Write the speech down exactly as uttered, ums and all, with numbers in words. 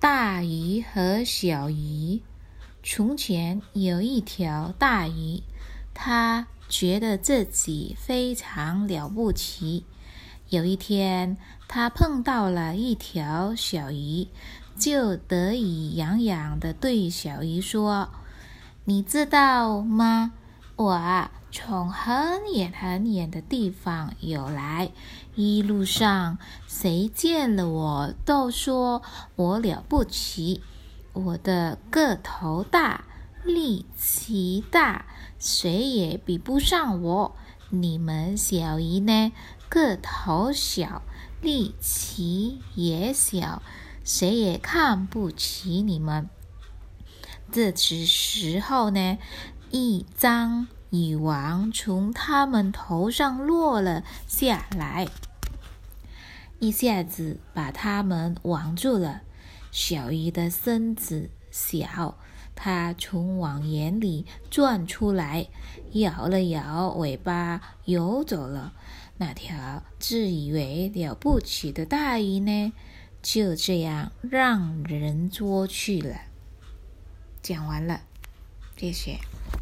大鱼和小鱼。从前有一条大鱼，它觉得自己非常了不起。有一天，它碰到了一条小鱼，就得意洋洋地对小鱼说：“你知道吗？我啊，从很远很远的地方游来，一路上谁见了我都说我了不起。我的个头大，力气大，谁也比不上我。你们小鱼呢，个头小，力气也小，谁也看不起你们。”这时候呢，一张羽毛从他们头上落了下来，一下子把他们网住了。小鱼的身子小，它从网眼里钻出来，摇了摇尾巴游走了。那条自以为了不起的大鱼呢，就这样让人捉去了。讲完了，谢谢。